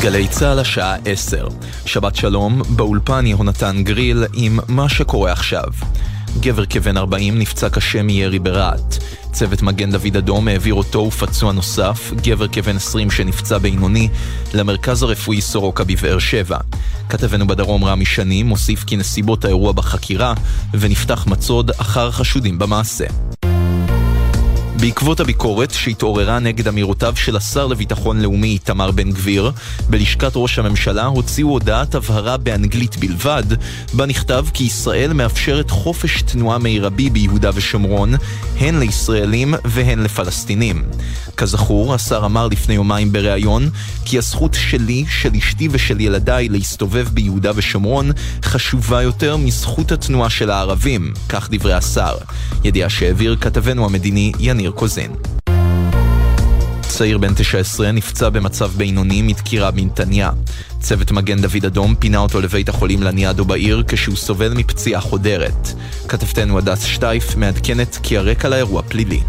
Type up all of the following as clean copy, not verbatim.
גלי צהל השעה 10. שבת שלום, באולפן יהונתן גריל עם מה שקורה עכשיו. גבר כבן 40 נפצע קשה מירי ברעת. צוות מגן דוד אדום העביר אותו ופצוע נוסף, גבר כבן 20 שנפצע בינוני, למרכז הרפואי סורוקה בבאר שבע. כתבנו בדרום רמי שני מוסיף כי נסיבות האירוע בחקירה ונפתח מצוד אחר חשודים במעשה. בעקבות הביקורת שהתעוררה נגד אמירותיו של השר לביטחון לאומי תמר בן גביר, בלשכת ראש הממשלה הוציאו הודעת הבהרה באנגלית בלבד, בה נכתב כי ישראל מאפשרת חופש תנועה מרבי ביהודה ושומרון, הן לישראלים והן לפלסטינים. כזכור, השר אמר לפני יומיים בריאיון כי הזכות שלי, של אשתי ושל ילדיי להסתובב ביהודה ושומרון חשובה יותר מזכות התנועה של הערבים, כך דברי השר. ידיעה שהעביר כתבנו המדיני יניר קוזין. צעיר בן 19 נפצע במצב בינוני מדקירה בנתניה. צוות מגן דוד אדום פינה אותו לבית החולים לניאדו בעיר כשהוא סובל מפציעה חודרת. כתבתנו הדס שטייף מעדכנת כי הרקע לאירוע פלילי.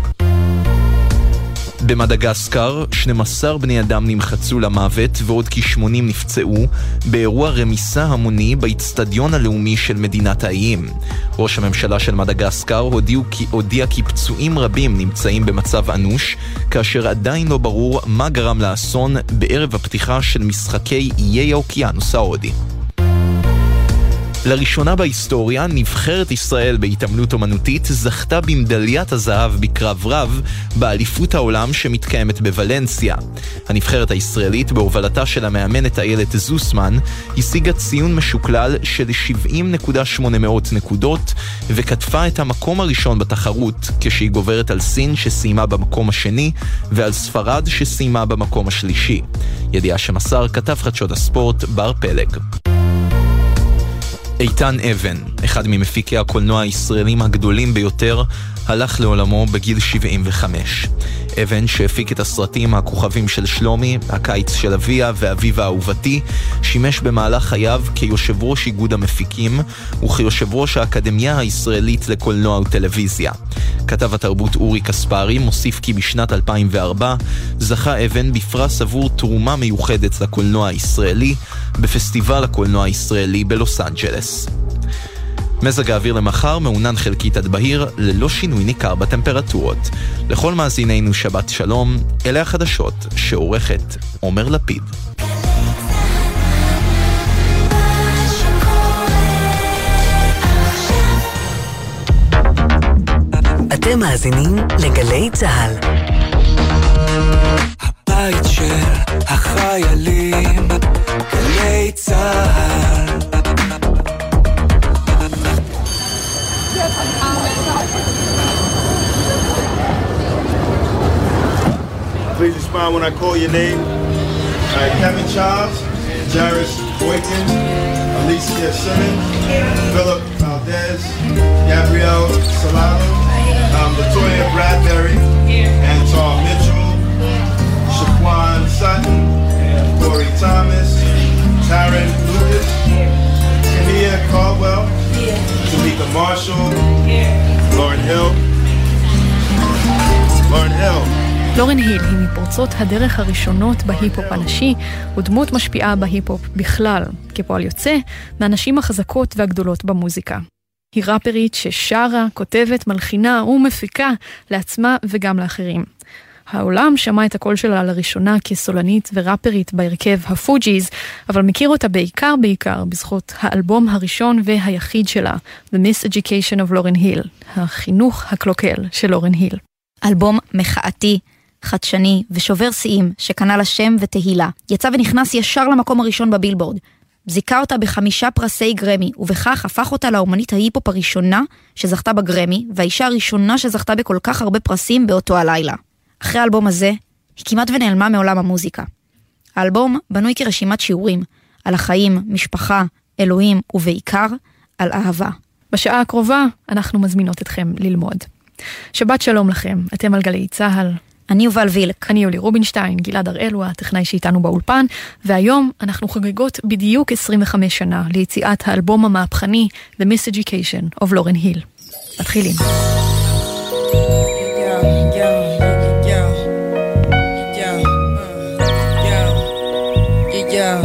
במדגסקר 12 בני אדם נמחצו למוות ועוד כ-80 נפצעו באירוע רמיסה המוני באצטדיון הלאומי של מדינת האיים. ראש הממשלה של מדגסקר הודיע כי פצועים רבים נמצאים במצב אנוש, כאשר עדיין לא ברור מה גרם לאסון בערב הפתיחה של משחקי איי האוקיינוס ההודי. לראשונה בהיסטוריה, נבחרת ישראל בהתעמלות אומנותית זכתה במדליית הזהב בקרב רב באליפות העולם שמתקיימת בוולנסיה. הנבחרת הישראלית בהובלתה של המאמנת איילת זוסמן השיגה ציון משוקלל של 70.800 נקודות וכתפה את המקום הראשון בתחרות, כשהיא גוברת על סין שסיימה במקום השני ועל ספרד שסיימה במקום השלישי. ידיעה שמסר כתב חדשות הספורט בר פלג. איתן אבן, אחד ממפיקי הקולנוע הישראלים הגדולים ביותר, הלך לעולמו בגיל 75. אבן, שהפיק את הסרטים הכוכבים של שלומי, הקיץ של אביה ואביב האהובתי, שימש במהלך חייו כיושב ראש איגוד המפיקים וכיושב ראש האקדמיה הישראלית לקולנוע וטלוויזיה. כתב התרבות אורי קספרי מוסיף כי בשנת 2004 זכה אבן בפרס עבור תרומה מיוחדת לקולנוע הישראלי בפסטיבל הקולנוע הישראלי בלוס אנג'לס. מזג האוויר למחר מעונן חלקית עד בהיר ללא שינוי ניכר בטמפרטורות. לכל מאזינינו שבת שלום, אלה החדשות שעורכת עומר לפיד. אתם מאזינים לגלי צהל. הבית של החיילים, גלי צהל. Please respond when I call your name. All right, Kevin Charles, Jairus Boykin, Alicia Simmons, Philip Valdez, Gabrielle Salado, Latoya Bradbury, Anton Mitchell, Shaquan Sutton, Corey Thomas, Taryn Lucas, Kenia Caldwell, Tamika Marshall, Lauren Hill. לורן היל היא מפורצות הדרך הראשונות בהיפ-הופ הנשי, ודמות משפיעה בהיפ-הופ בכלל, כפועל יוצא מהנשים החזקות והגדולות במוזיקה. היא ראפרית ששרה, כותבת, מלחינה ומפיקה לעצמה וגם לאחרים. העולם שמע את הקול שלה לראשונה כסולנית וראפרית בהרכב הפוג'יז, אבל מכיר אותה בעיקר בזכות האלבום הראשון והיחיד שלה, The Miseducation of Lauryn Hill, החינוך הקלוקל של לורן היל. אלבום מחאתי, חדשני ושובר שיאים שקנה לה שם ותהילה. יצא ונכנס ישר למקום הראשון בבילבורד. זיכה אותה ב5 פרסי גרמי, ובכך הפך אותה לאומנית ההיפופ הראשונה שזכתה בגרמי, והאישה הראשונה שזכתה בכל כך הרבה פרסים באותו הלילה. אחרי האלבום הזה, היא כמעט ונעלמה מעולם המוזיקה. האלבום בנוי כרשימת שיעורים, על החיים, משפחה, אלוהים, ובעיקר על אהבה. בשעה הקרובה אנחנו מזמינות אתכם ללמוד. שבת שלום לכם, אתם על גלי צהל. אני יובל וילק. אני יולי רובינשטיין, גלעד הראל הוא הטכנאי שאיתנו באולפן, והיום אנחנו חוגגות בדיוק 25 שנה ליציאת האלבום המהפכני The Miseducation of Lauryn Hill. מתחילים. Yeah.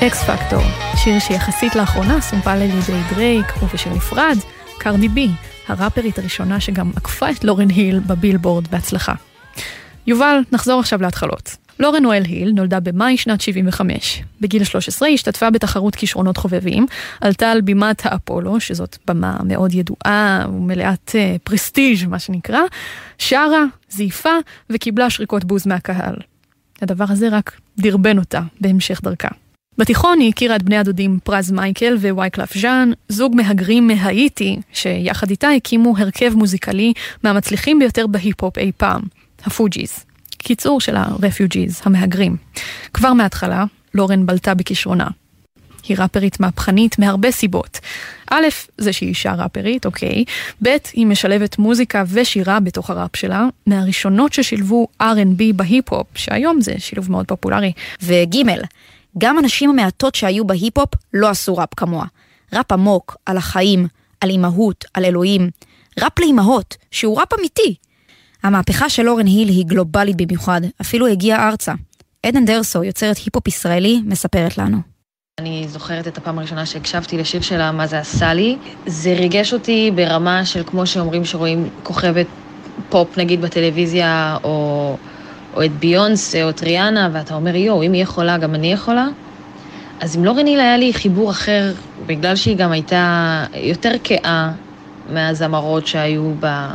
אקס פקטור, שיר שיחסית לאחרונה סומפה על ידי דרייק, ובשיר נפרד, קרדי בי, הראפרית הראשונה שגם עקפה את לורן היל בבילבורד בהצלחה. יובל, נחזור עכשיו להתחלות. לורן נואל היל נולדה במאי שנת 75. בגיל 13 השתתפה בתחרות כישרונות חובבים, עלתה על בימת האפולו, שזאת במה מאוד ידועה ומלאת פרסטיג' מה שנקרא, שרה, זייפה וקיבלה שריקות בוז מהקהל. הדבר הזה רק דרבן אותה בהמשך דרכה. בתיכון היא הכירה את בני הדודים פרז מייקל ווייקלף ז'אן, זוג מהגרים מהאיטי, שיחד איתה הקימו הרכב מוזיקלי מהמצליחים ביותר בהיפ-הופ אי פעם, הפוג'יז. קיצור של הרפיוג'יז, המהגרים. כבר מההתחלה, לורן בלטה בכישרונה. היא ראפרית מהפכנית מהרבה סיבות. א', זה שהיא אישה ראפרית, אוקיי. ב', היא משלבת מוזיקה ושירה בתוך הראפ שלה, מהראשונות ששילבו R&B בהיפ-הופ, שהיום זה שילוב מאוד פופולרי. וג', גם אנשים המעטות שהיו בהיפ-הופ לא עשו ראפ כמוה. ראפ עמוק, על החיים, על אימהות, על אלוהים. ראפ לאימהות, שהוא ראפ אמיתי. המהפכה של לורן היל היא גלובלית במיוחד, אפילו הגיעה ארצה. עדן דרסו, יוצרת היפ-הופ ישראלי, מספרת לנו. אני זוכרת את הפעם הראשונה שהקשבתי לשיר שלה, מה זה עשה לי. זה ריגש אותי ברמה של כמו שאומרים שרואים כוכבת פופ נגיד בטלוויזיה, או את ביונס או את ריאנה, ואתה אומר, יו, אם היא יכולה, גם אני יכולה. אז עם לורן היל היה לי חיבור אחר, בגלל שהיא גם הייתה יותר כאה מהזמרות שהיו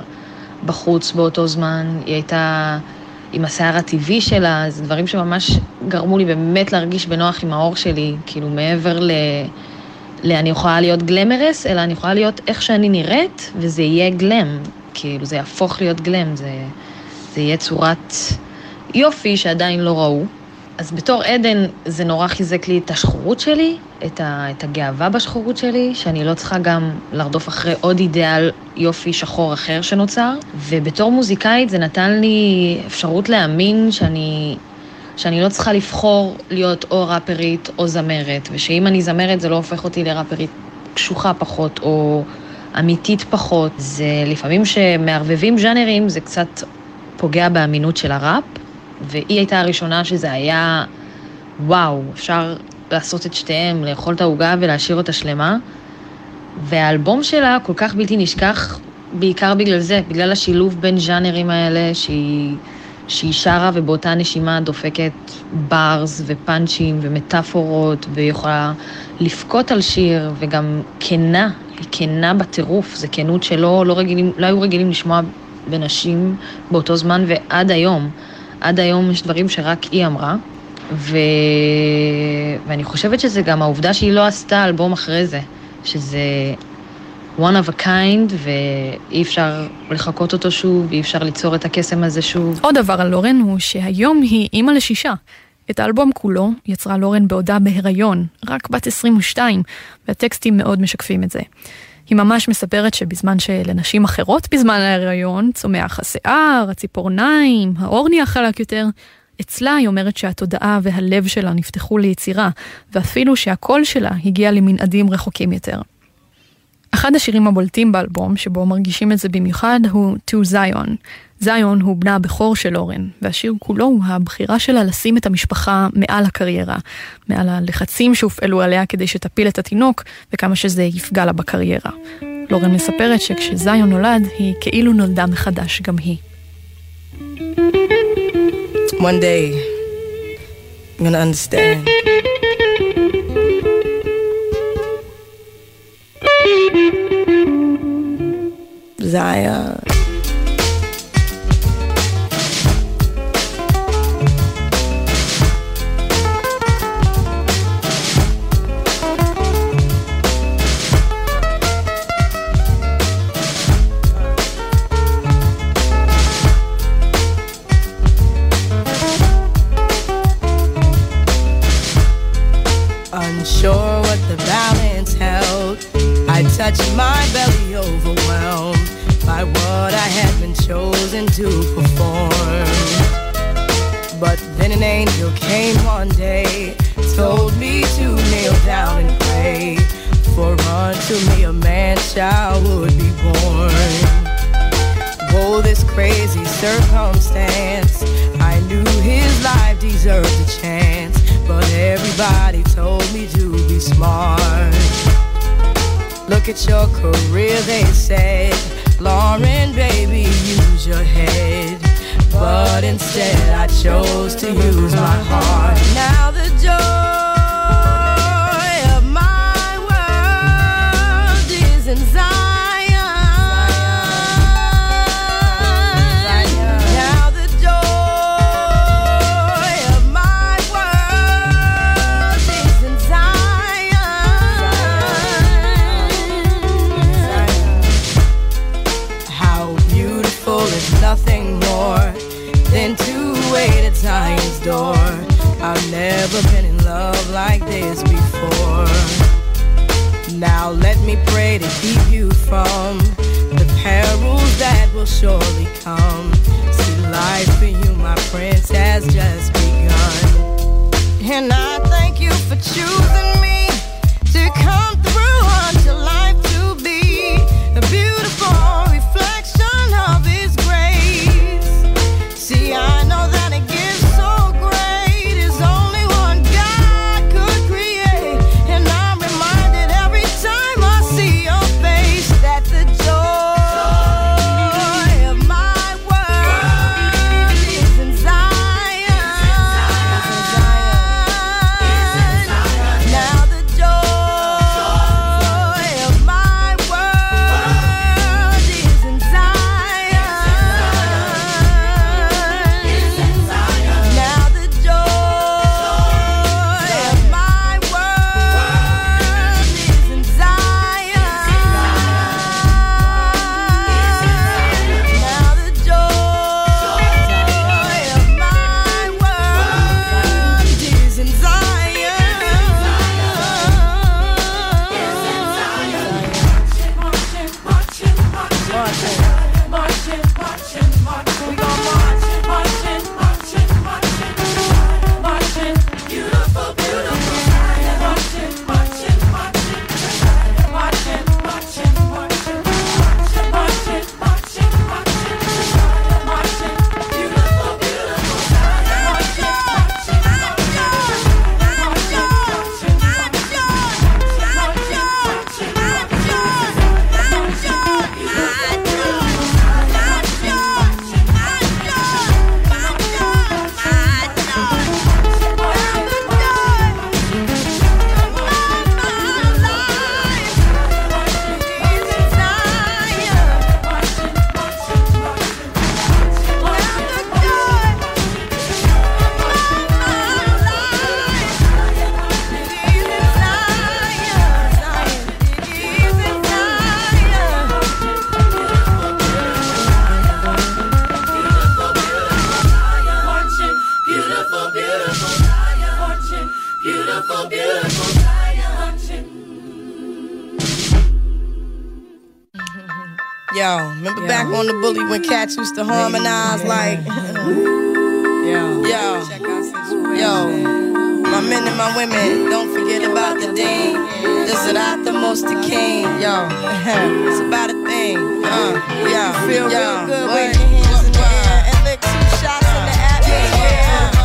בחוץ באותו זמן. היא הייתה עם השיער הטבעי שלה, זה דברים שממש גרמו לי באמת להרגיש בנוח עם האור שלי, כאילו מעבר אני יכולה להיות גלמרס, אלא אני יכולה להיות איך שאני נראית, וזה יהיה גלם, כאילו זה יהפוך להיות גלם, זה יהיה צורת יופי שעדיין לא ראו. אז בתור עדן זה נורא חיזק לי את השחורות שלי, את הגאווה בשחורות שלי, שאני לא צריכה גם לרדוף אחרי עוד אידאל יופי שחור אחר שנוצר. ובתור מוזיקאית זה נתן לי אפשרות להאמין שאני לא צריכה לבחור להיות או ראפרית או זמרת, ושאם אני זמרת זה לא הופך אותי לראפרית קשוחה פחות או אמיתית פחות. זה לפעמים שמערבבים ז'אנרים זה קצת פוגע באמינות של הראפ, והיא הייתה הראשונה שזה היה, וואו, אפשר לעשות את שתיהם, לאכול את העוגה ולהשאיר אותה שלמה. והאלבום שלה כל כך בלתי נשכח, בעיקר בגלל זה, בגלל השילוב בין ז'אנרים האלה, שהיא שרה ובאותה נשימה דופקת ברס ופאנצ'ים ומטאפורות, ויכולה לפקוט על שיר, וגם כנה, היא כנה בטירוף, זה כנות שלא לא היו רגילים לשמוע בנשים באותו זמן, ועד היום. עד היום יש דברים שרק היא אמרה, ואני חושבת שזה גם העובדה שהיא לא עשתה אלבום אחרי זה, שזה one of a kind, ואי אפשר לחכות אותו שוב, אי אפשר ליצור את הקסם הזה שוב. עוד דבר על לורן הוא שהיום היא אימא לשישה. את האלבום כולו יצרה לורן בעודה בהיריון, רק בת 22, והטקסטים מאוד משקפים את זה. היא ממש מספרת שבזמן שלנשים אחרות בזמן ההיריון צומח השיער, הציפורניים, האור נהיה חלק יותר, אצלה היא אומרת שהתודעה והלב שלה נפתחו ליצירה, ואפילו שהקול שלה הגיע למנעדים רחוקים יותר. אחד השירים הבולטים באלבום, שבו מרגישים את זה במיוחד, הוא To Zion. זיון הוא בנה הבכור של לורן, והשיר כולו הוא הבחירה שלה לשים את המשפחה מעל הקריירה, מעל הלחצים שהופעלו עליה כדי שתפיל את התינוק, וכמה שזה יפגע לה בקריירה. לורן מספרת שכשזיון נולד, היא כאילו נולדה מחדש גם היא. One day, I'm gonna understand. Zion. Unsure what the balance held, I touched my belly overwhelmed by what I had been chosen to perform. But then an angel came one day, told me to kneel down and pray, for unto me a man-child would be born. Oh, this crazy circumstance, I knew his life deserved a chance, but everybody told me to be smart. Look at your career, they said, Lauren, baby, use your head. But instead I chose to use my heart. Now the joy of my world is in Zion. Now the joy of my world is in Zion. How beautiful is nothing more than to wait at Zion's door. I've never been in love like this before. Now let me pray to keep you from the perils that will surely come. See, life for you, my prince, has just begun. And I thank you for choosing me to come through unto life to be a beautiful reflection of His grace. See, I know that a gift so great is only one God could create. And I'm reminded every time I see your face that the joy of my world is in Zion. Now the joy of my world is in Zion. Now the joy of my world is in Zion. Now the joy of my world is in We gon' march, marching, marching, marching, marching, beautiful, beautiful Zion. Marching, marching, marching, marching, marching, marching, marching, marching, marching, beautiful, beautiful Zion. Marching, marching, beautiful, beautiful Zion. Yo, remember back on the bully when cats used to harmonize like Yo, my men and my women, don't forget about the dean. This is not the most the king. Yo, it's about a thing. Feel real good, wave your hands in the air and lick 2 shots in the atmosphere.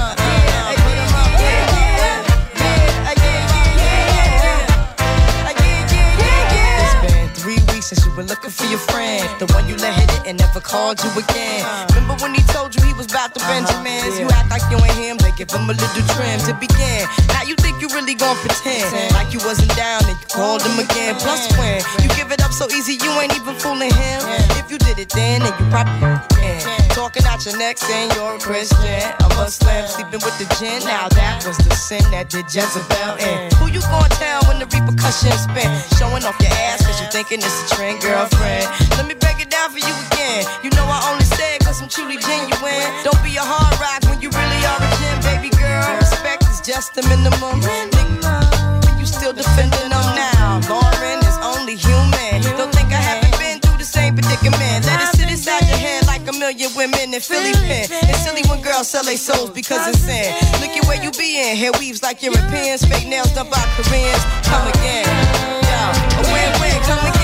Since you been looking for your friend, the one you let hit it and never called you again. Remember when he told you he was about to Benjamins? You act like you ain't him, they give him a little trim to begin. Now you think you really gon' pretend like you wasn't down and you called him again. Plus when you give it up so easy, you ain't even fooling him. If you did it then you probably can. Talking out your neck saying you're a Christian, a Muslim, sleeping with the jinn. Now that was the sin that did Jezebel in. Who you gon' tell when the repercussions spin? Showing off your ass cause you thinking it's a trend, girlfriend. Let me break it down for you again. You know I only say it cause I'm truly genuine. Don't be a hard rock when you really are a gem, baby girl. Respect is just the minimum. Nigga, you still defending them now. Lauren is only human. Don't think I haven't been through the same predicament. Let it sit inside your head like a million women in Philly pen. It's silly when girls sell their souls because it's sin. Look at where you be in. Hair weaves like Europeans. Fake nails done by Koreans. Come again. Yo, a win-win. Come again.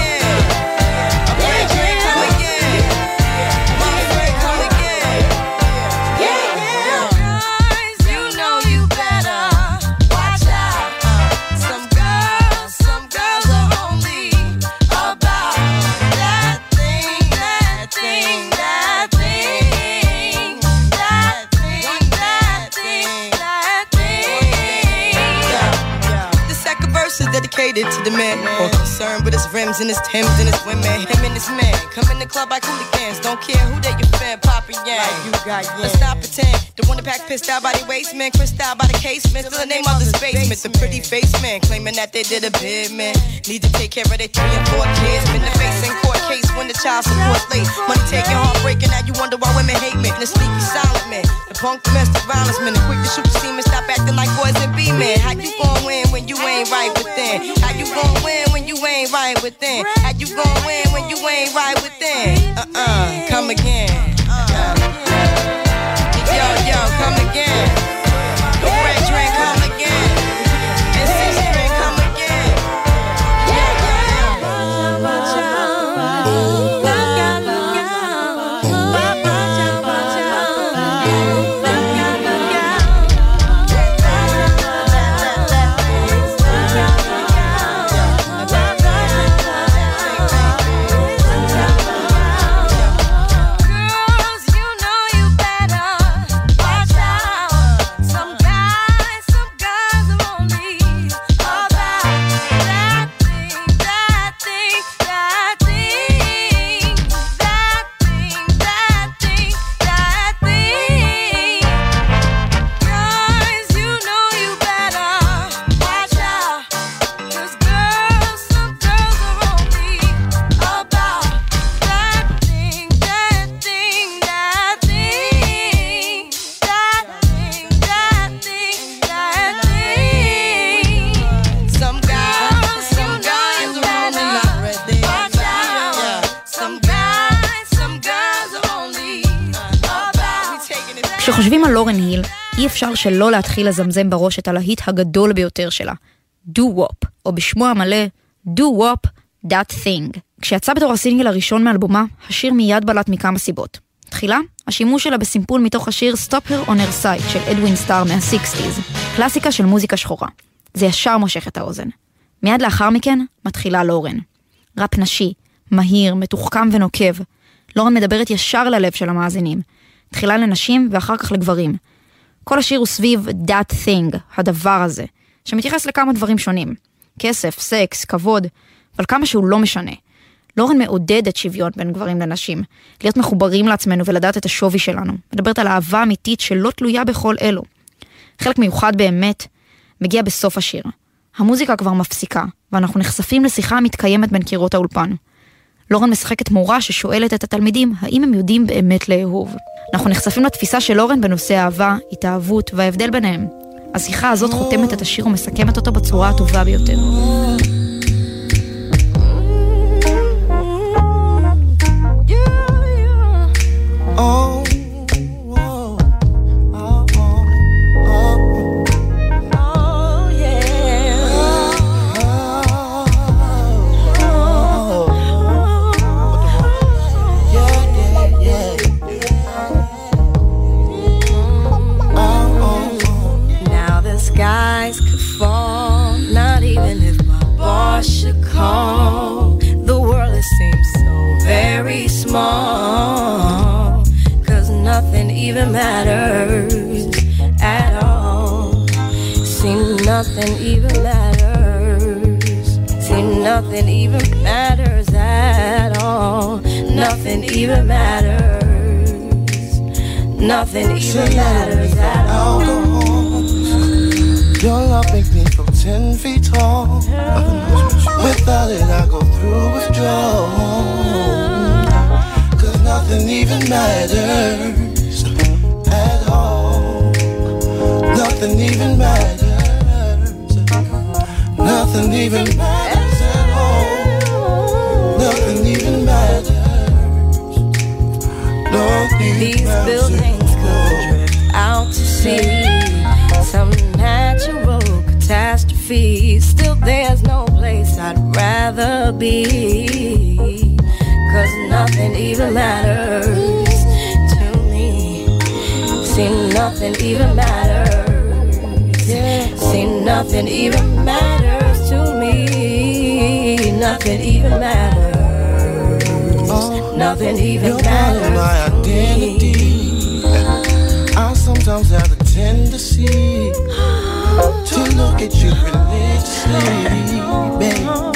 sentiment or concern with his rims and his Timbs and his women. Him and his man come in the club like hooligans. Don't care who they offend, poppin' yang. Like you got yang. Let's not pretend. The one that pack pissed out by the waistman, crissed out by the casement. Still the name of this basement. The pretty face man claiming that they did a bid, man. Need to take care of their 3 and 4 kids. Been the face in court case when the child support's late. Money taking, heartbreaking. Now you wonder why women hate men. The sneaky silent man, the punk domestic violence man, the quick to shoot the semen. Stop acting like boys and be men. How you gon' win when you ain't right within? How you gon' win when you ain't right within? How you gon' win when you ain't right within? Come again. Yo, come again. The red drink, come again. And 6 drink, come again. כשחושבים על לורן היל, אי אפשר שלא להתחיל לזמזם בראש את הלהיט הגדול ביותר שלה, Do Wop, או בשמו המלא, Do Wop, That Thing. כשיצא בתור הסינגל הראשון מאלבומה, השיר מיד בלט מכמה סיבות. תחילה, השימוש שלה בסימפול מתוך השיר Stop Her on Her Side של אדווין סטאר מה-60s, קלאסיקה של מוזיקה שחורה. זה ישר מושך את האוזן. מיד לאחר מכן, מתחילה לורן. ראפ נשי, מהיר, מתוחכם ונוקב. לורן מדברת ישר ללב של המאזינים. תחילה לנשים ואחר כך לגברים. כל השיר הוא סביב that thing, הדבר הזה, שמתייחס לכמה דברים שונים. כסף, סקס, כבוד, אבל כמה שהוא לא משנה. לורן מעודדת שוויון בין גברים לנשים, להיות מחוברים לעצמנו ולדעת את השווי שלנו. מדברת על אהבה אמיתית שלא תלויה בכל אלו. חלק מיוחד באמת מגיע בסוף השיר. המוזיקה כבר מפסיקה, ואנחנו נחשפים לשיחה המתקיימת בין קירות האולפן. לורן משחקת מורה ששואלת את התלמידים האם הם יודעים באמת לאהוב. אנחנו נחשפים לתפיסה של לורן בנושא אהבה, התאהבות וההבדל ביניהם. השיחה הזאת חותמת את השיר ומסכמת אותו בצורה הטובה ביותר. The world it seems so very small, 'cause nothing even matters at all. See, nothing even matters. See, nothing even matters at all. Nothing even matters. Nothing even matters at all. Your love makes me feel 10 feet tall. Without it I go through withdrawal, 'cause nothing even matters at all. Nothing even matters. Nothing even matters at all. Nothing even matters. Nothing These matters. Buildings could drift out to sea. Some natural catastrophe. Still there's no place I'd rather be, 'cause nothing even matters to me. See, nothing even matters. See, nothing even matters to me. Nothing even matters. Nothing even matters to my identity. I sometimes have the tendency to look at you religiously, babe.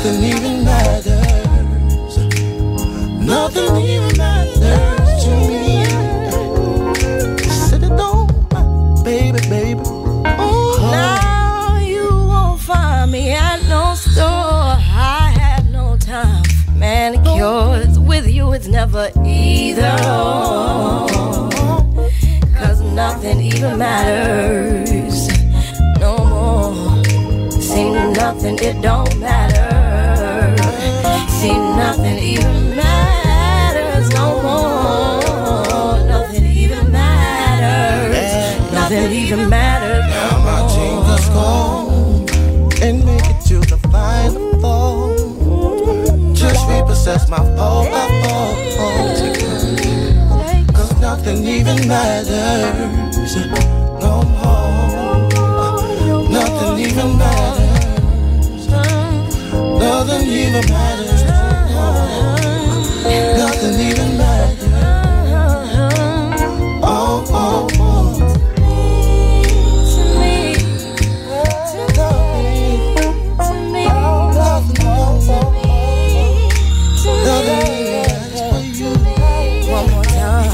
nothing even matters. Nothing even matters to me. Said it don't matter, baby, baby. Oh. Now you won't find me at no store. I have no time for manicures. With you it's never either or. 'Cause nothing even matters no more. See nothing, it don't matter. See nothing even matters no more. Nothing even matters. Nothing even matters. Now my jingles gone and make it to the final fall. Just repossess my whole life. 'Cause nothing even matters no more. Nothing even matters. Nothing even matters. Nothing even matters. Oh, oh, oh. To me, to me, one more time.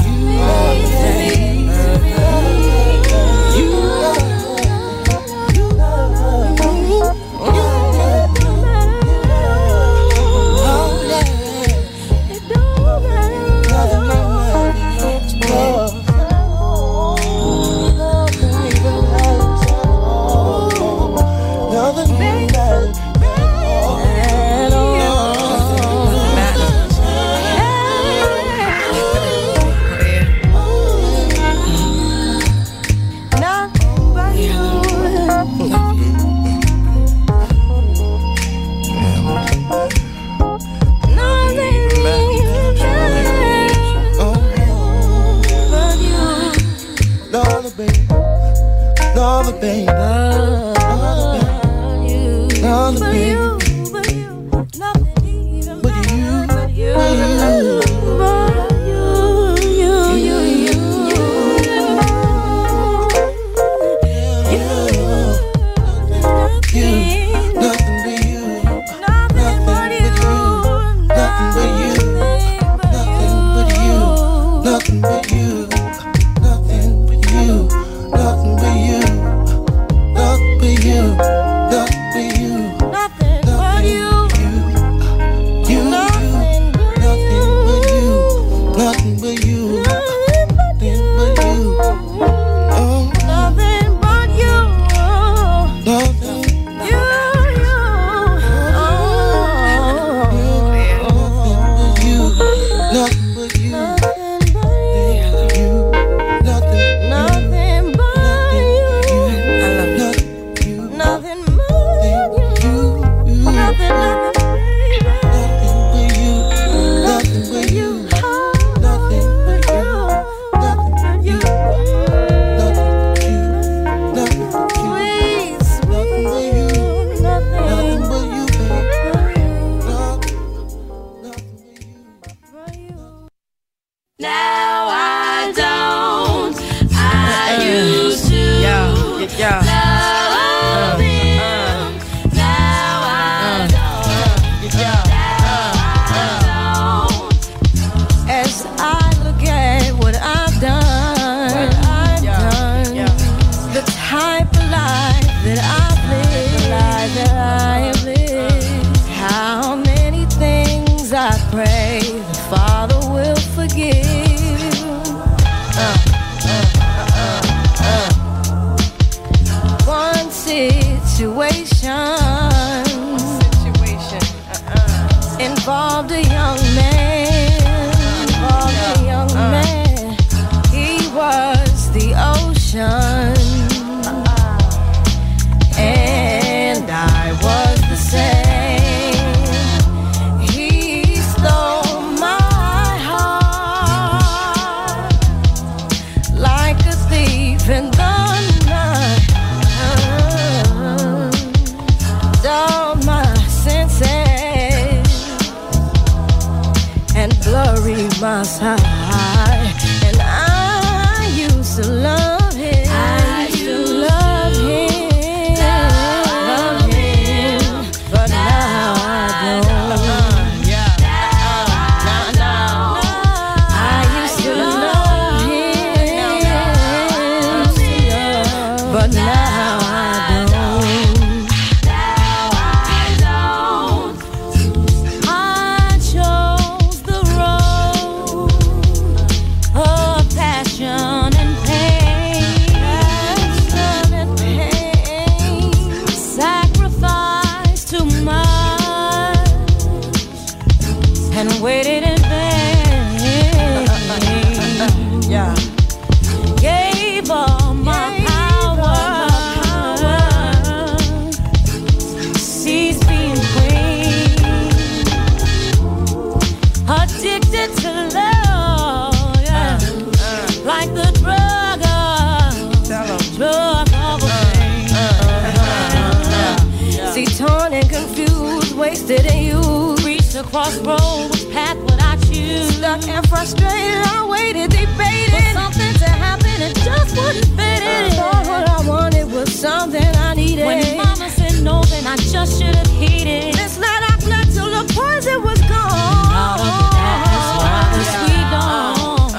But now I confused, wasted and used. Reached the crossroads, which path would I choose? Stuck and frustrated, I waited, debated for something to happen, it just wouldn't fit in. Thought what I wanted was something I needed. When mama said no, then I just should have heeded. This night I slept till the poison was gone. Out of the darkness, while the sweet dawn.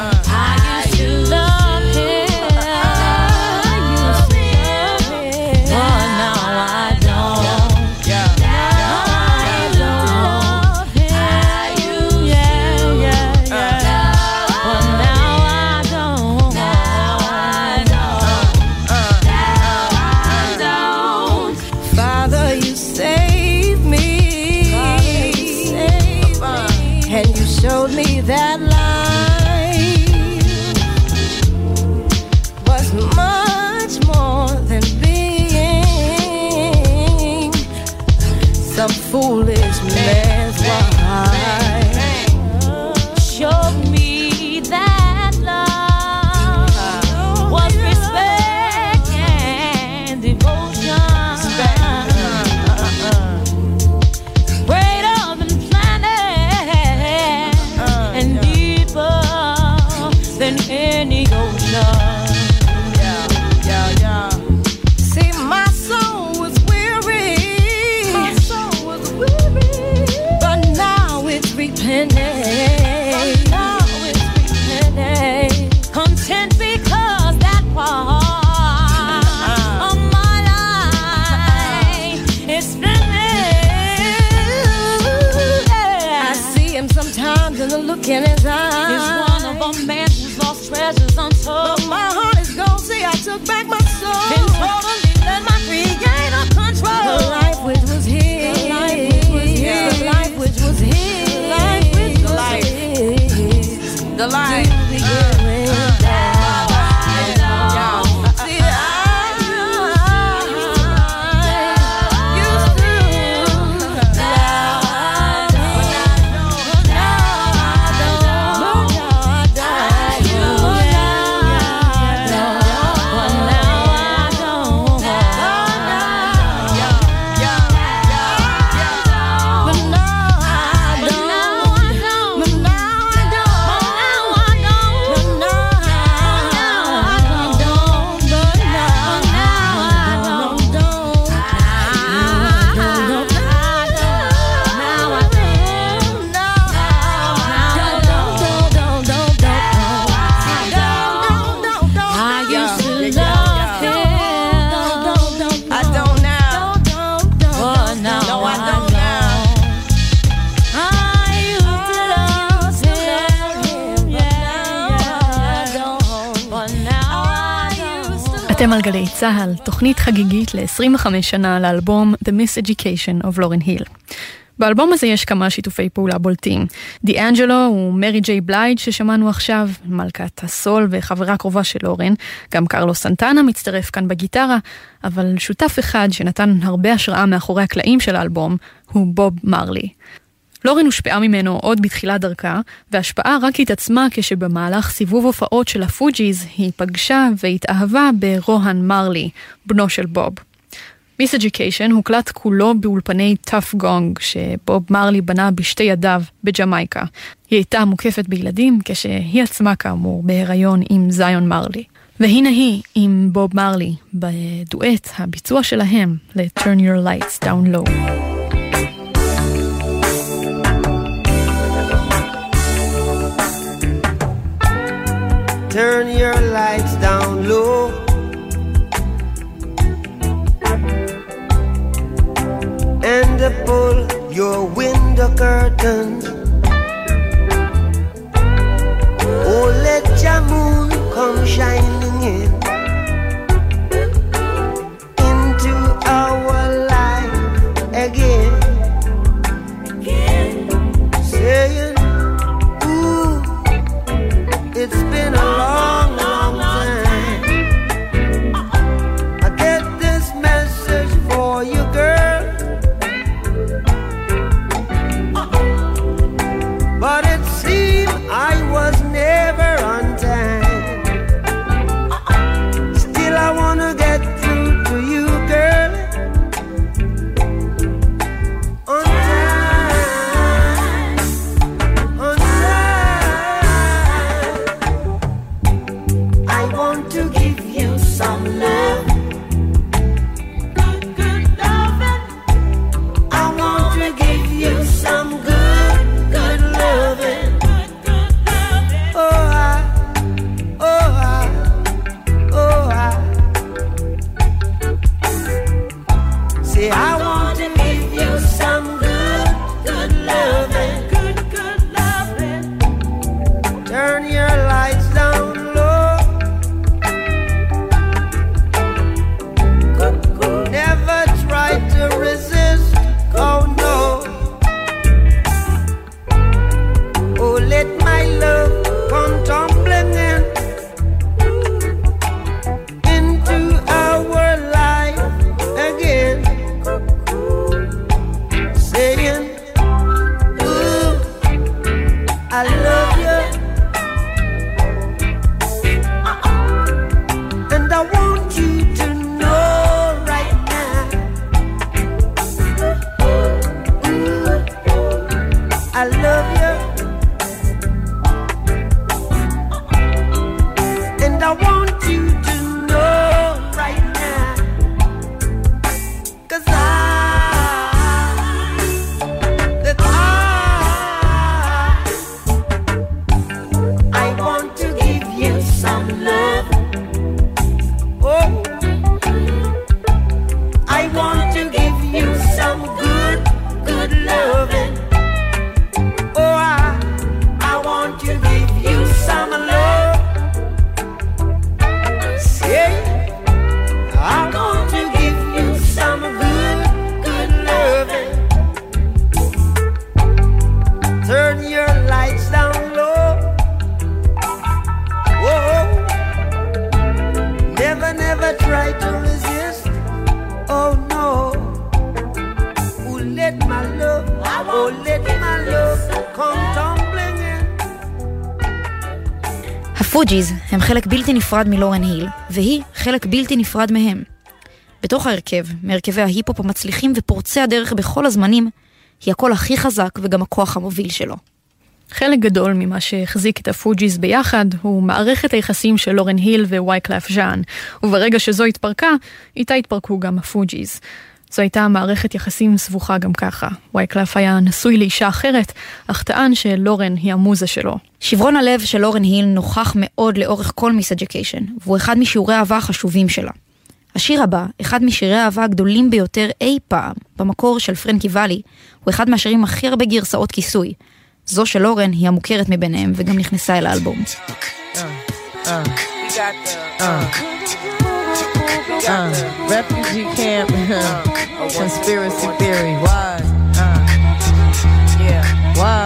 Showed me that life was much more than being some foolish man's wife. Showed me that love was respect and devotion. Than any ocean. Yeah. See, my soul was weary. But now it's repenting. Content because that part of my life is finished. I see him sometimes in the look in his eyes. He's one of a man who's lost treasures untold. But my heart is gone, see I took back my soul. Been totally let my creator control. The life which was his. The life which was his. The life which was his. The life. אתם על גלי צהל, תוכנית חגיגית ל-25 שנה לאלבום The Miseducation of Lauryn Hill. באלבום הזה יש כמה שיתופי פעולה בולטים. דיאנג'לו ומרי ג'יי בלייד ששמענו עכשיו, מלכת הסול וחברה קרובה של לורן, גם קרלוס סנטנה מצטרף כאן בגיטרה, אבל שותף אחד שנתן הרבה השראה מאחורי הקלעים של האלבום הוא בוב מרלי. לורן הושפעה ממנו עוד בתחילת דרכה, וההשפעה רק התעצמה כשבמהלך סיבוב הופעות של הפוג'יז היא פגשה והתאהבה ברוהן מרלי, בנו של בוב. Miseducation הוקלט כולו באולפני טאף גונג שבוב מרלי בנה בשתי ידיו בג'מייקה. היא הייתה מוקפת בילדים כשהיא עצמה כאמור בהיריון עם זיון מרלי. והנה היא עם בוב מרלי בדואט הביצוע שלהם ל-Turn Your Lights Down Low. Turn your lights down low. And pull your window curtains. Oh, let your moon come shining in into our life again. Saying, ooh, it's been a long, long time. I get this message for you, girl. I love you, and I want you to know right now, 'cause I want to give you some love. Oh, I want to give you some good loving. Oh, I want to give you some love. Say, I want to give you some good loving. Turn your lights down low. Whoa, never try to resist. Oh no. Oh, let my love, oh, let my love come tumbling in. הפוג'יז הם חלק בלתי נפרד מלורן היל, והיא חלק בלתי נפרד מהם. בתוך ההרכב, מהרכבי ההיפ-הופ המצליחים ופורצי הדרך בכל הזמנים, היא הקול הכי חזק וגם הכוח המוביל שלו. חלק גדול ממה שהחזיק את הפוג'יז ביחד הוא מערכת היחסים של לורן היל ווייקלף ז'אן, וברגע שזו התפרקה, איתה התפרקו גם הפוג'יז. זו הייתה מערכת יחסים סבוכה גם ככה. וייקלף היה נשוי לאישה אחרת, אך טען שלורן היא המוזה שלו. שברון הלב של לורן היל נוכח מאוד לאורך כל מיס אדיוקיישן, והוא אחד משיעורי האהבה החשובים שלה. השיר הבא, אחד משירי האהבה הגדולים ביותר אי פעם, במקור של פרנקי ואלי, הוא אחד מהשירים הכי הרבה גרסאות כיסוי. זו של לורן היא המוכרת מביניהם, וגם נכנסה אל האלבום. Refugee camp, conspiracy theory, why? Yeah, why?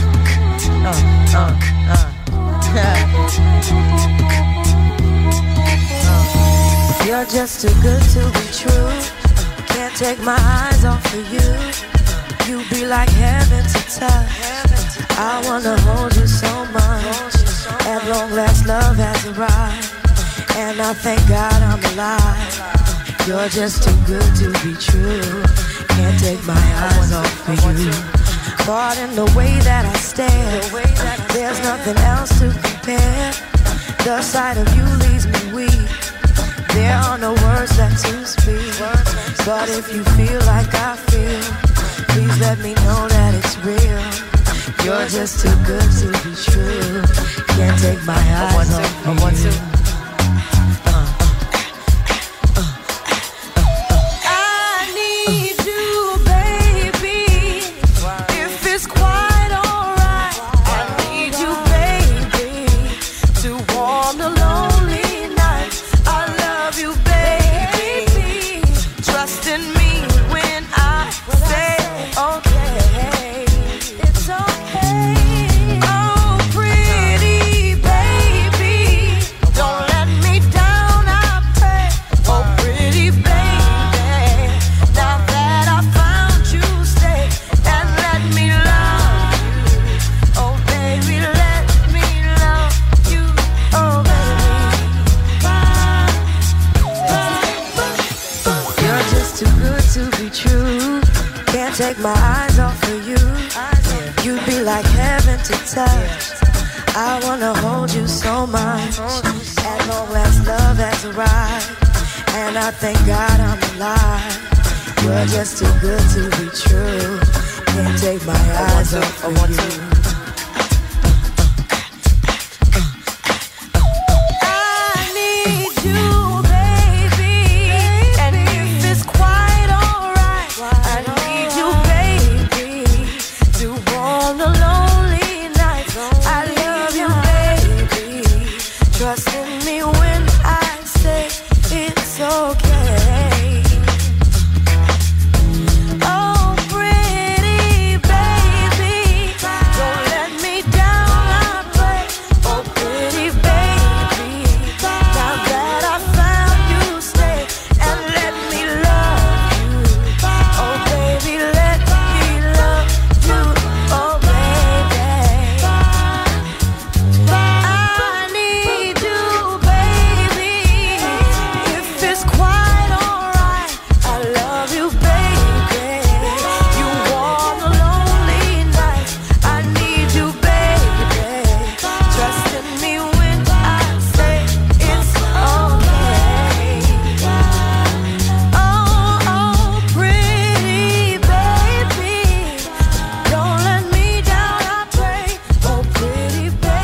You're just too good to be true. Can't take my eyes off of you. You be like heaven to touch. I wanna hold you so much. At long last, love has arrived. And I thank God I'm alive. You're just too good to be true. Can't take my eyes off of you. Caught in the way that I stare. There's nothing else to compare. The sight of you leaves me weak. There are no words left to speak. But if you feel like I feel, please let me know that it's real. You're just too good to be true. Can't take my eyes off of you. Take my eyes off of you. You'd be like heaven to touch. I wanna hold you so much. At long last, love has arrived. And I thank God I'm alive. You're just too good to be true. Can't take my eyes off of you. Oh, pretty baby, don't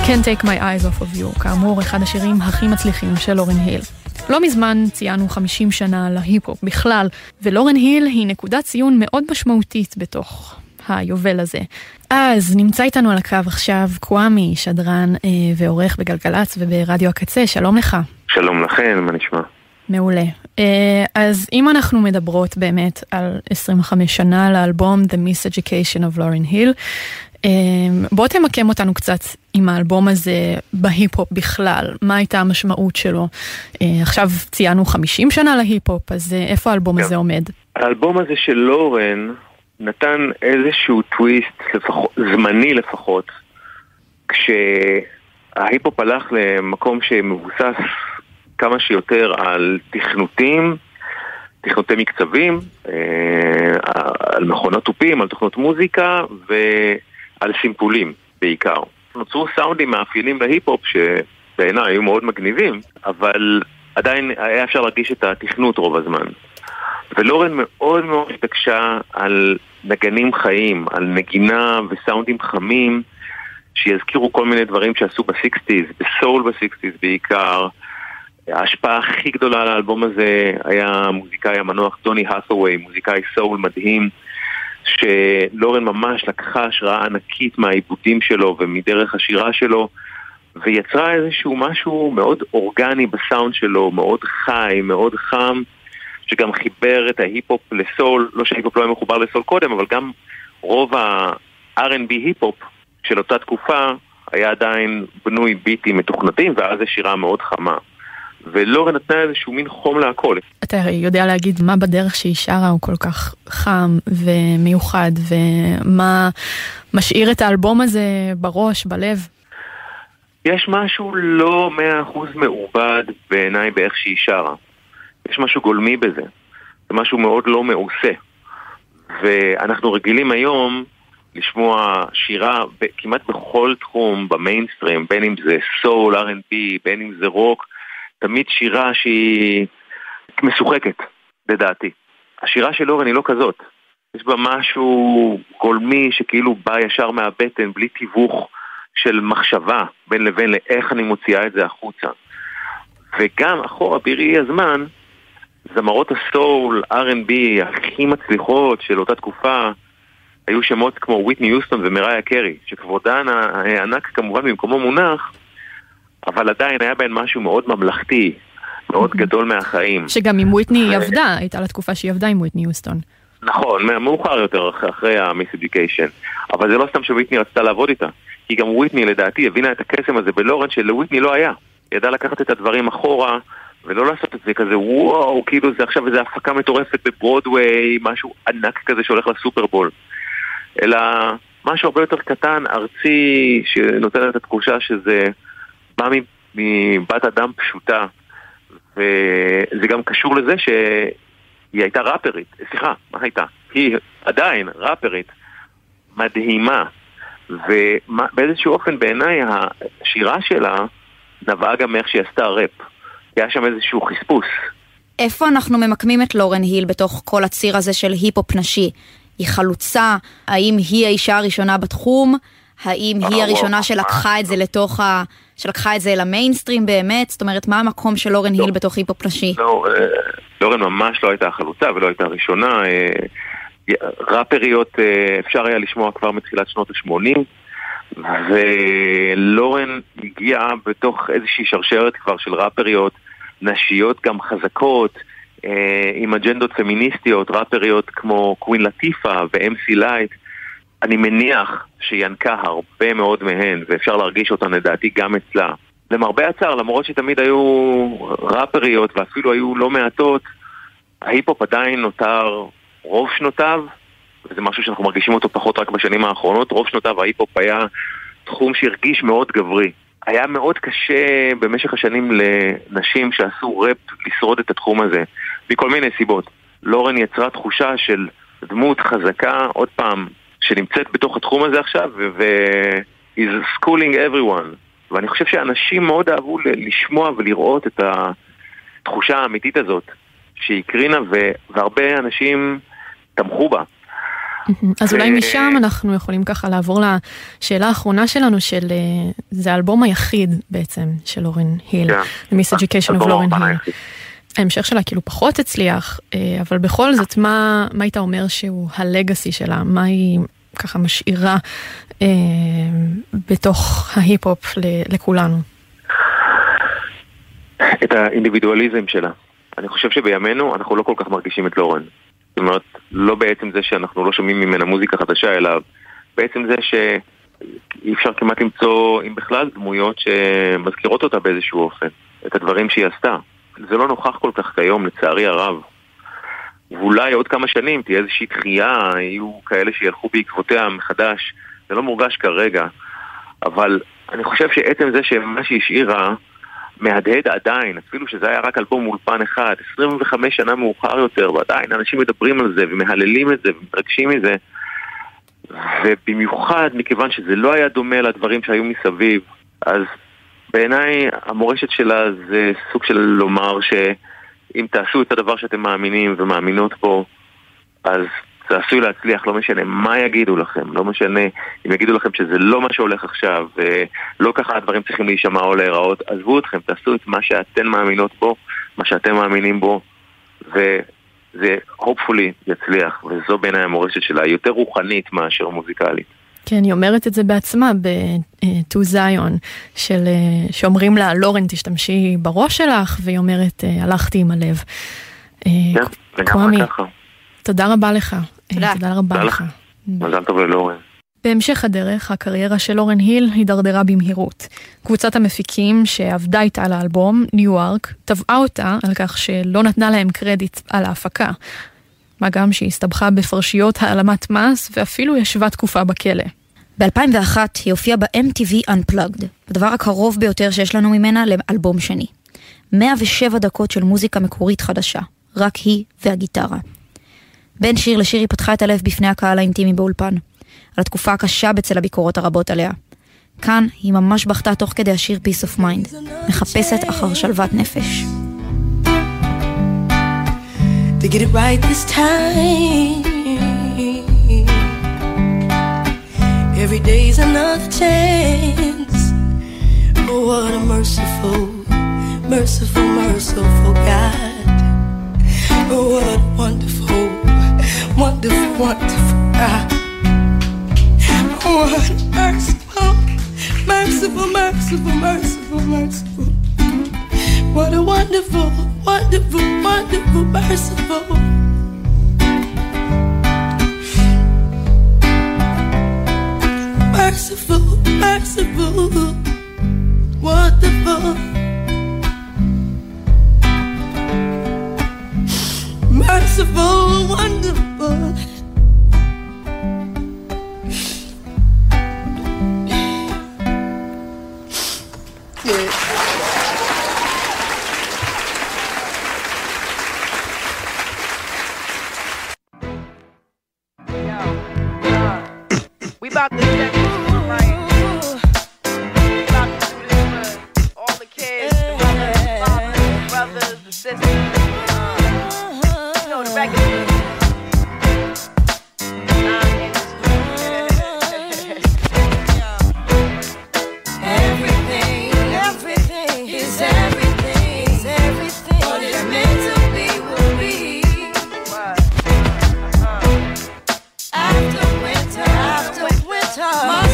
Can't Take My Eyes Off of You, כאמור אחד השירים הכי מצליחים של לורן היל. לא מזמן ציינו 50 שנה להיפ-הופ בכלל, ולורן היל היא נקודת ציון מאוד משמעותית בתוך היובל הזה. אז נמצא איתנו על הקו עכשיו קוואמי, שדרן ועורך בגלגלץ וברדיו הקצה, שלום לך. שלום לכם, מה נשמע? מעולה. אז אם אנחנו מדברות באמת על 25 שנה לאלבום The Miseducation of Lauryn Hill, בוא תמקם אותנו קצת עם האלבום הזה בהיפ-הופ בכלל, מה הייתה המשמעות שלו? עכשיו ציינו 50 שנה להיפ-הופ, אז איפה האלבום הזה עומד? האלבום הזה של לורן נתן איזשהו טוויסט, זמני לפחות, כשההיפ-הופ הלך למקום שמבוסס כמה שיותר על תכנותי מקצבים, על מכונות טופים, על תוכנות מוזיקה ועל סימפולים בעיקר. נוצרו סאונדים מאפיינים להיפ-הופ שבעיניי היו מאוד מגניבים, אבל עדיין היה אפשר להרגיש את התכנות רוב הזמן. ולורן מאוד מאוד התעקשה על נגנים חיים, על נגינה וסאונדים חמים שיזכירו כל מיני דברים שעשו ב-60s, בסול ב-60s בעיקר. ההשפעה הכי גדולה על האלבום הזה היה מוזיקאי המנוח דוני האת'ווי, מוזיקאי סול מדהים, שלורן ממש לקחה השראה ענקית מהעיבודים שלו ומדרך השירה שלו, ויצרה איזשהו משהו מאוד אורגני בסאונד שלו, מאוד חי, מאוד חם, שגם חיבר את ההיפ-הופ לסול, לא שההיפ-הופ לא היה מחובר לסול קודם, אבל גם רוב ה-R&B היפ-הופ של אותה תקופה היה עדיין בנוי ביטים מתוכנתים, ואז זה שירה מאוד חמה. ולורן נתנה איזשהו מין חום להכל. אתה יודע להגיד מה בדרך שהיא שרה הוא כל כך חם ומיוחד, ומה משאיר את האלבום הזה בראש, בלב? יש משהו לא 100% מעובד בעיניי באיך שהיא שרה. יש משהו גולמי בזה. זה משהו מאוד לא מעושה. ואנחנו רגילים היום לשמוע שירה כמעט בכל תחום במיינסטרים, בין אם זה סול, R&B, בין אם זה רוק, תמיד שירה שהיא משוחקת, לדעתי. השירה של לורן היא לא כזאת. יש בה משהו גולמי שכאילו בא ישר מהבטן, בלי תיווך של מחשבה בין לבין לאיך אני מוציאה את זה החוצה. וגם אחורה בראי הזמן, זמרות הסול, R&B, הכי מצליחות של אותה תקופה, היו שמות כמו וויטני יוסטון ומריה קרי, שכבודן הענק כמובן במקומו מונח, אבל עדיין היה בהן משהו מאוד ממלכתי, מאוד גדול מהחיים. שגם עם וויטני היא עבדה, הייתה לה תקופה שהיא עבדה עם וויטני יוסטון. נכון, מאוחר יותר אחרי המיסאדיוקיישן, אבל זה לא סתם שוויטני רצתה לעבוד איתה, כי גם וויטני לדעתי הבינה את הקסם הזה בלורן שלוויטני לא היה. היא ידעה לקחת את הדברים אחורה, ולא לעשות את זה כזה, וואו, כאילו זה עכשיו איזו הפקה מטורפת בברודווי, משהו ענק כזה שהולך לסופרבול. אלא משהו הרבה יותר קטן, ארצי, שנותן את התחושה שזה בא מבת אדם פשוטה, וזה גם קשור לזה שהיא הייתה ראפרית, סליחה, מה הייתה? היא עדיין ראפרית מדהימה, ובאיזשהו אופן בעיניי השירה שלה נבעה גם מאיך שהיא עשתה ראפ. היה שם איזשהו חספוס. איפה אנחנו ממקמים את לורן היל בתוך כל הציר הזה של היפ-הופ נשי? היא חלוצה? האם היא האישה הראשונה בתחום? האם היא הראשונה שלקחה את זה שלקחה את זה למיינסטרים באמת? זאת אומרת, מה המקום של לורן היל בתוך היפ-הופ נשי? לא, לורן ממש לא הייתה חלוצה ולא הייתה ראשונה. ראפריות אפשר היה לשמוע כבר מתחילת שנות ה-80, ולורן הגיעה בתוך איזושהי שרשרת כבר של ראפריות נשיות גם חזקות, עם אג'נדות פמיניסטיות, ראפריות כמו קווין לטיפה ו-MC לייט. אני מניח שינקה הרבה מאוד מהן, ואפשר להרגיש אותן לדעתי גם אצלה. למרבה הצער, למרות שתמיד היו ראפריות ואפילו היו לא מעטות, ההיפ-הופ עדיין נותר רוב שנותיו, וזה משהו שאנחנו מרגישים אותו פחות רק בשנים האחרונות. רוב שנותיו ההיפ-הופ היה תחום שהרגיש מאוד גברי. היה מאוד קשה במשך השנים לנשים שעשו ראפ לשרוד את התחום הזה, מכל מיני סיבות. לורן יצרה תחושה של דמות חזקה, עוד פעם, שנמצאת בתוך התחום הזה עכשיו, is schooling everyone. ואני חושב שאנשים מאוד אהבו לשמוע ולראות את התחושה האמיתית הזאת שהיא קרינה, והרבה אנשים תמכו בה. אז אולי משם אנחנו יכולים ככה לעבור לשאלה האחרונה שלנו, זה האלבום היחיד בעצם של לורן היל, The Miseducation of לורן היל. ההמשך שלה כאילו פחות הצליח, אבל בכל זאת, מה היית אומר שהוא הלגאסי שלה? מה היא ככה משאירה בתוך ההיפ-הופ לכולנו? את האינדיבידואליזם שלה. אני חושב שבימינו אנחנו לא כל כך מרגישים את לורן. זאת אומרת, לא בעצם זה שאנחנו לא שומעים ממנה מוזיקה חדשה, אלא בעצם זה שאי אפשר כמעט למצוא, אם בכלל, דמויות שמזכירות אותה באיזשהו אופן, את הדברים שהיא עשתה. זה לא נוכח כל כך כיום, לצערי הרב. ואולי עוד כמה שנים תהיה איזושהי דחייה, יהיו כאלה שילכו בעקבותיה מחדש. זה לא מורגש כרגע, אבל אני חושב שעצם זה שמה שהשאירה מהדהד עדיין, אפילו שזה היה רק אלבום אולפן אחד, 25 שנה מאוחר יותר, ועדיין אנשים מדברים על זה ומהללים את זה ומתרגשים מזה, ובמיוחד מכיוון שזה לא היה דומה לדברים שהיו מסביב, אז בעיניי המורשת שלה זה סוג של לומר שאם תעשו את הדבר שאתם מאמינים ומאמינות בו, אז זה עשוי להצליח, לא משנה מה יגידו לכם, לא משנה אם יגידו לכם שזה לא מה שהולך עכשיו, ולא ככה הדברים צריכים להישמע או להיראות, עזבו אתכם, תעשו את מה שאתן מאמינות בו, מה שאתם מאמינים בו, וזה hopefully יצליח, וזו בעיניי המורשת שלה, יותר רוחנית מאשר מוזיקלית. כן, היא אומרת את זה בעצמה ב-To Zion, שאומרים לה, לורן תשתמשי בראש שלך, והיא אומרת, הלכתי עם הלב. כן, לגמרי ככה. תודה רבה לך. תודה רבה לך. מזל טוב ללורן. בהמשך הדרך, הקריירה של לורן היל הידרדרה במהירות. קבוצת המפיקים שעבדה איתה על האלבום, ניו-ארק, תבעה אותה על כך שלא נתנה להם קרדיט על ההפקה. מה גם שהיא הסתבכה בפרשיות העלמת מס, ואפילו ישבה תקופה בכלא. ב-2001 היא הופיעה ב-MTV Unplugged, הדבר הקרוב ביותר שיש לנו ממנה לאלבום שני. 107 דקות של מוזיקה מקורית חדשה, רק היא והגיטרה. בין שיר לשיר היא פתחה את הלב בפני הקהל האינטימי באולפן, על התקופה הקשה בצל הביקורות הרבות עליה. כאן היא ממש בכתה תוך כדי השיר Peace of Mind, מחפשת אחר שלוות נפש. To get it right this time, every day's another chance. Oh, what a merciful, merciful, merciful God. Oh, what a wonderful, wonderful, wonderful God. Oh, what a merciful, merciful, merciful, merciful, merciful. What a wonderful, wonderful, wonderful, merciful. Merciful, merciful, wonderful. Merciful, wonderful. Yeah. We about to set this right. We about to do this for all the kids, the mothers, the fathers, the brothers, the sisters. You know the record. Everything, everything is everything, is everything. What is meant to be will be. After winter,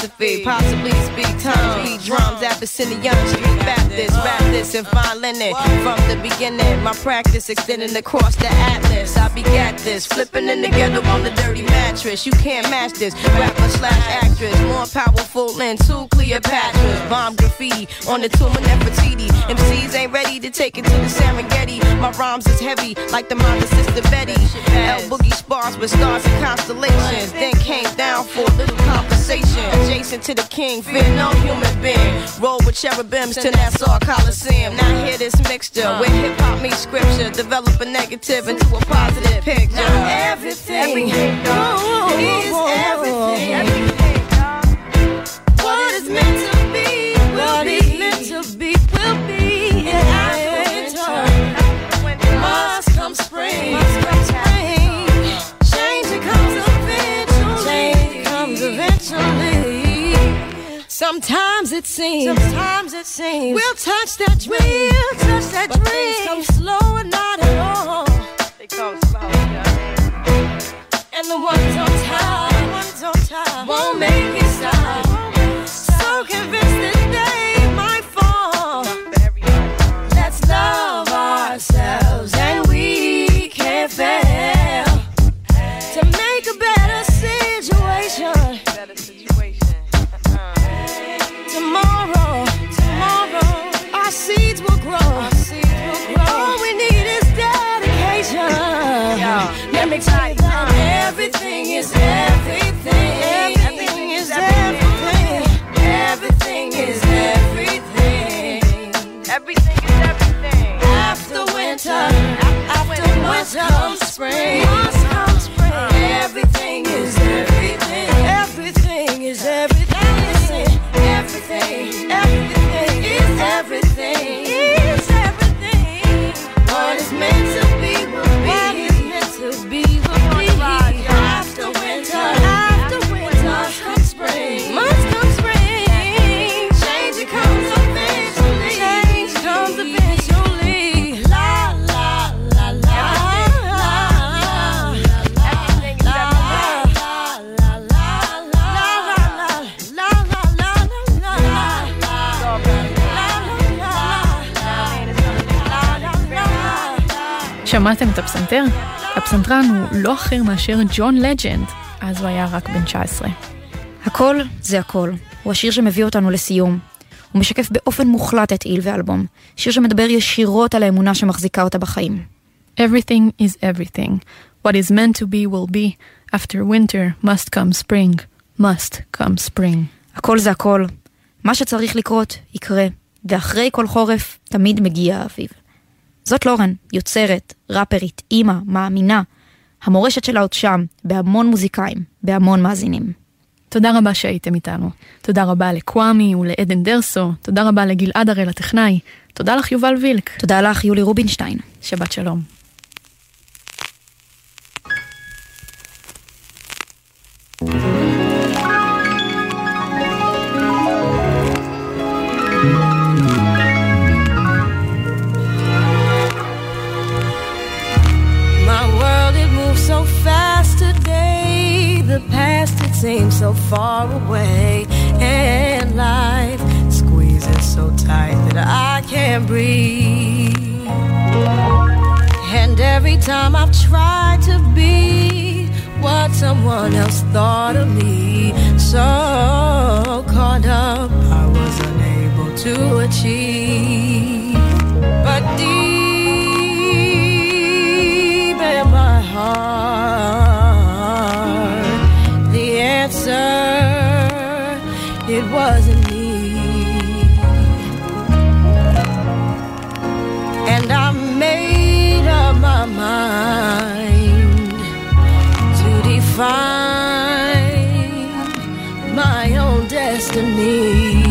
philosophy, possibly speak tongues, beat drums, Abyssinian, Street Baptist, rap this and fine linen. From the beginning, my practice extending across the atlas. I begat this, flipping in the ghetto on the dirty mattress. You can't match this, rapper / actress, more powerful than two Cleopatras. Bomb graffiti on the tomb of Nefertiti. MCs ain't ready to take it to the Serengeti. My rhymes is heavy like the mother sister Betty. L Boogie spars with stars and constellations. Then came down for a little conversation. Adjacent to the king, fear no human being. Roll with cherubims to Nassau Coliseum. Now hear this mixture where hip hop meets scripture. Develop a negative into a positive picture. Everything is everything. What is meant to be will be. Meant to be will be. And after winter must come spring. Change it comes eventually. Sometimes it seems we'll touch that dream. But things come slow and not at all. They come slow, and the ones on top won't make it stop. So convinced that they might fall. Let's love ourselves and we can't fail to make a better situation. Tomorrow, our seeds will grow. All we need is dedication. Let me tell you that everything is everything. Everything is everything. Everything is everything. Everything is everything. After winter must come spring. Everything is everything. Everything is everything. Everything is everything. Is everything. What is meant to be will be. What is meant to be will be. After winter must come spring. Change it comes eventually. La la la la. Everything is שמעתם את הפסנתר? הפסנתרן הוא לא אחר מאשר ג'ון לג'נד, אז הוא היה רק בן 19. הכל זה הכל. הוא השיר שמביא אותנו לסיום. הוא משקף באופן מוחלט את איל ואלבום. שיר שמדבר ישירות על האמונה שמחזיקה אותה בחיים. Everything is everything. What is meant to be will be. After winter must come spring. Must come spring. הכל זה הכל. מה שצריך לקרות יקרה. ואחרי כל חורף תמיד מגיע האביב. זאת לורן, יוצרת, ראפרית, אימא, מאמינה. המורשת שלה עוד שם, בהמון מוזיקאים, בהמון מאזינים. תודה רבה שהייתם איתנו. תודה רבה לקוואמי ולעדן דרסו. תודה רבה לגלעד הראל הטכנאי. תודה לך יובל וילק. תודה לך יולי רובינשטיין. שבת שלום. So fast today, the past it seems so far away, and life squeezes so tight that I can't breathe. And every time I've tried to be what someone else thought of me, so caught up I was unable to achieve. But deep in my heart, the answer, it wasn't me. And I made up my mind to define my own destiny.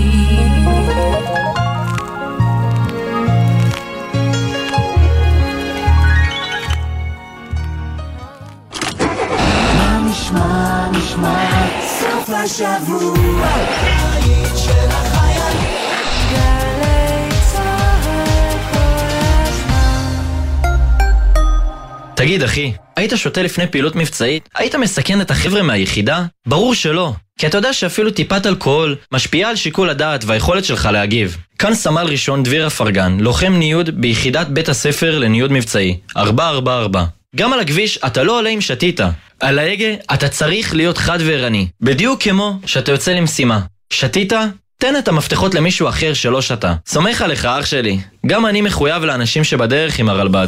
סוף השבוע היית של החיילים גלי צהל כל הזמן תגיד אחי, היית שותה לפני פעילות מבצעית? היית מסכן את החבר'ה מהיחידה? ברור שלא. כי אתה יודע שאפילו טיפת אלכוהול משפיעה על שיקול הדעת והיכולת שלך להגיב. כאן סמל ראשון דביר אפרגן, לוחם ניוד ביחידת בית הספר לניוד מבצעי, 444. גם על הכביש אתה לא עולה עם שתיתה. על ההגה אתה צריך להיות חד וערני. בדיוק כמו שאתה יוצא למשימה. שתיתה? תן את המפתחות למישהו אחר שלא שתה. סומך עליך אח שלי. גם אני מחויב לאנשים שבדרך עם הרלב"ד.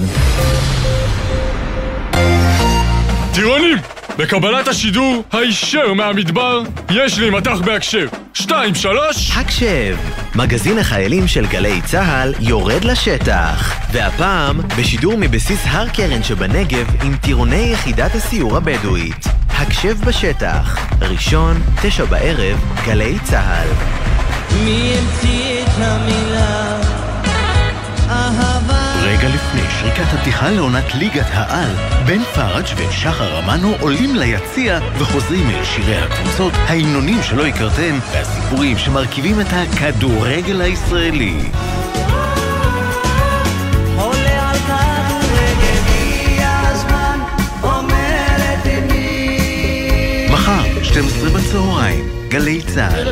טירונים! בקבלת השידור הישר מהמדבר יש לי מתח בהקשב 2, 3 הקשב, מגזין החיילים של גלי צהל יורד לשטח, והפעם בשידור מבסיס הר קרן שבנגב עם טירוני יחידת הסיור הבדואית. הקשב בשטח, ראשון 9 בערב, גלי צהל. מי המציא את המילה אהבה? רגע לפני שריקת הפתיחה לעונת ליגת העל, בן פרג' ושחר אמנו עולים ליציע וחוזרים אל שירי הקבוצות, ההמנונים שלא הכרתם והסיפורים שמרכיבים את הכדורגל הישראלי. עולה על כדורגל, הגיע הזמן, אומרת אמי. מחר, 12 בצהריים, גלי צהל.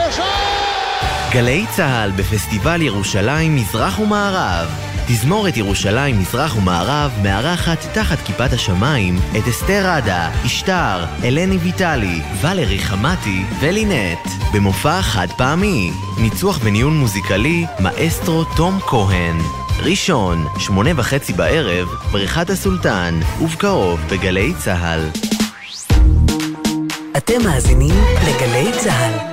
גלי צהל בפסטיבל ירושלים מזרח ומערב. תזמורת ירושלים מזרח ומערב מארחת תחת כיפת השמיים את אסתר עדה, אשתר, אלני ויטלי, ולרי חמתי ולינט במופע חד פעמי. ניצוח וניהול מוזיקלי מאסטרו תום כהן. ראשון 8:30 בערב, בריכת הסולטן, ובקרוב בגלי צהל. אתם מאזינים לגלי צהל.